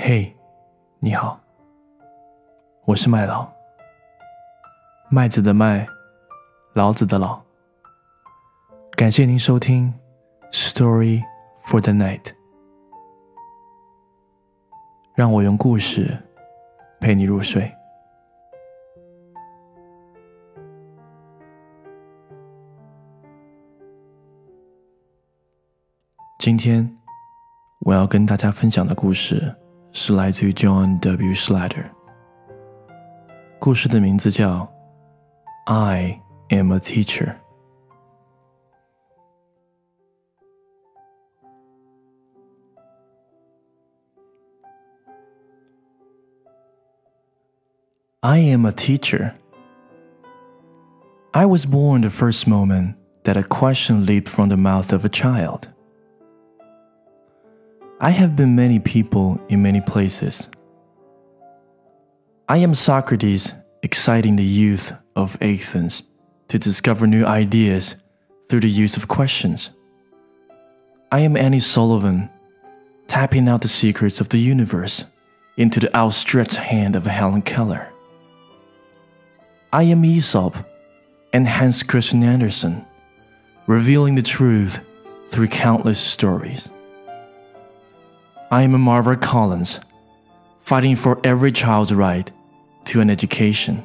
嘿，你好，我是麦老，麦子的麦，老子的老。感谢您收听 Story for the Night， 让我用故事陪你入睡。今天我要跟大家分享的故事是来自于 John W. Slater， 故事的名字叫 I am a teacher。 I am a teacher. I was born the first moment that a question leaped from the mouth of a child. I have been many people in many places. I am Socrates exciting the youth of Athens to discover new ideas through the use of questions. I am Annie Sullivan tapping out the secrets of the universe into the outstretched hand of Helen Keller. I am Aesop and Hans Christian Andersen revealing the truth through countless stories. I am a Margaret Collins, fighting for every child's right to an education.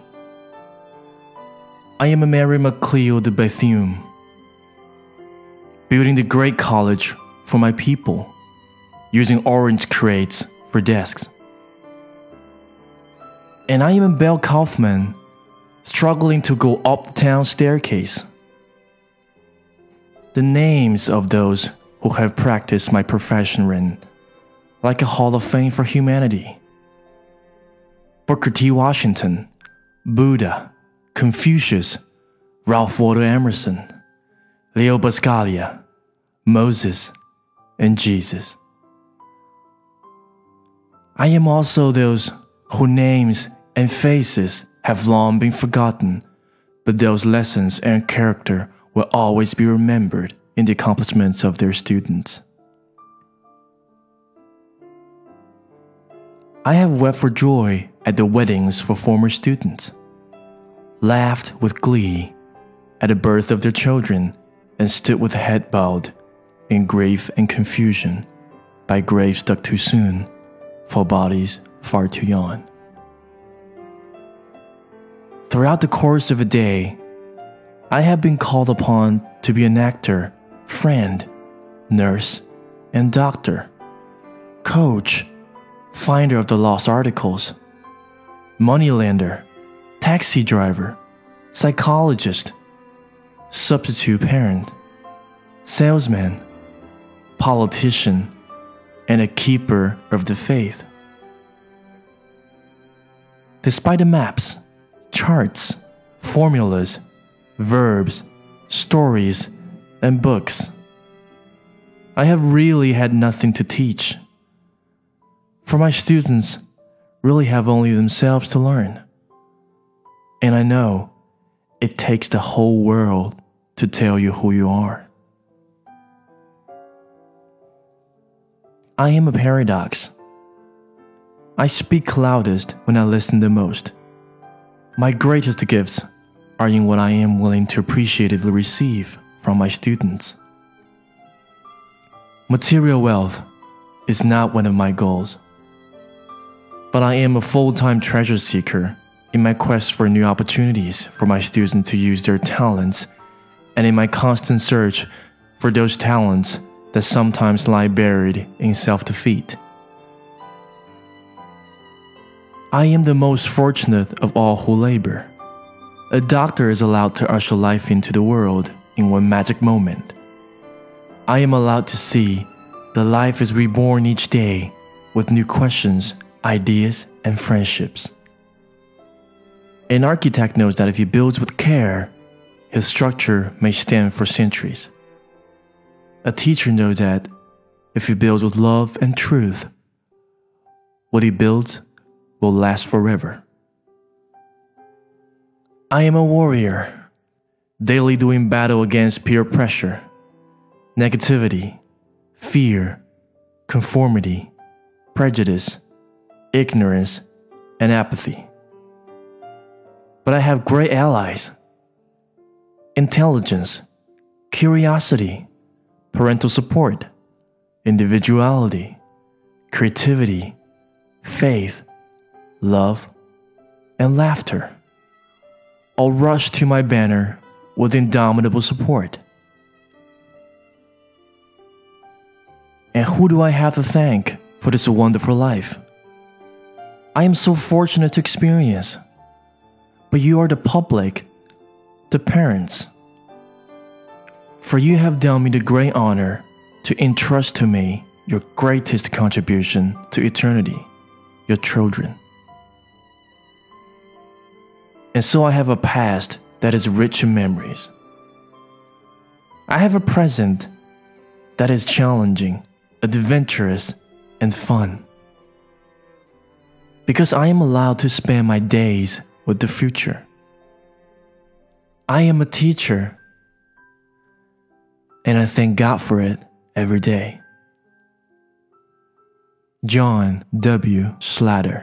I am a Mary MacLeod de Bethune, building the great college for my people, using orange crates for desks. And I am a Belle Kaufman, struggling to go up the town staircase. The names of those who have practiced my profession ring like a hall of fame for humanity. Booker T. Washington, Buddha, Confucius, Ralph Waldo Emerson, Leo Buscaglia, Moses, and Jesus. I am also those whose names and faces have long been forgotten, but those lessons and character will always be remembered in the accomplishments of their students. I have wept for joy at the weddings for former students, laughed with glee at the birth of their children, and stood with head bowed in grief and confusion by graves dug too soon for bodies far too young. Throughout the course of a day, I have been called upon to be an actor, friend, nurse, and doctor, coach, finder of the lost articles, moneylender, taxi driver, psychologist, substitute parent, salesman, politician, and a keeper of the faith. Despite the maps, charts, formulas, verbs, stories, and books, I have really had nothing to teach. For my students really have only themselves to learn. And I know it takes the whole world to tell you who you are. I am a paradox. I speak loudest when I listen the most. My greatest gifts are in what I am willing to appreciatively receive from my students. Material wealth is not one of my goals. But I am a full-time treasure seeker in my quest for new opportunities for my students to use their talents, and in my constant search for those talents that sometimes lie buried in self-defeat. I am the most fortunate of all who labor. A doctor is allowed to usher life into the world in one magic moment. I am allowed to see that life is reborn each day with new questions, ideas, and friendships. An architect knows that if he builds with care, his structure may stand for centuries. A teacher knows that if he builds with love and truth, what he builds will last forever. I am a warrior, daily doing battle against peer pressure, negativity, fear, conformity, prejudice, ignorance, and apathy. But I have great allies: intelligence, curiosity, parental support, individuality, creativity, faith, love, and laughter. All rush to my banner with indomitable support. And who do I have to thank for this wonderful life? I am so fortunate to experience. But you are the public, the parents. For you have done me the great honor to entrust to me your greatest contribution to eternity, your children. And so I have a past that is rich in memories. I have a present that is challenging, adventurous, and fun. Because I am allowed to spend my days with the future. I am a teacher, and I thank God for it every day. John W. Slatter.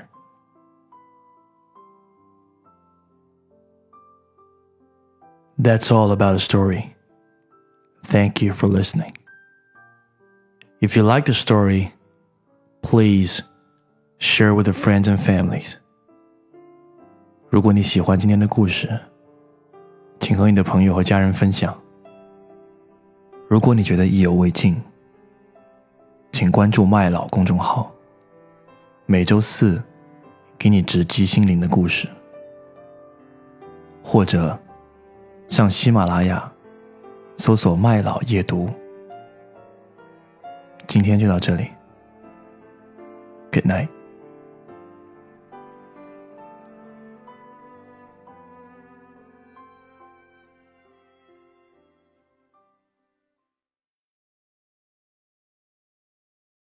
That's all about a story. Thank you for listening. If you like the story, please share with your friends and families. 如果你喜欢今天的故事，请和你的朋友和家人分享。如果你觉得意犹未尽，请关注麦老公众号，每周四给你直击心灵的故事，或者上喜马拉雅搜索麦老夜读。今天就到这里， Good night。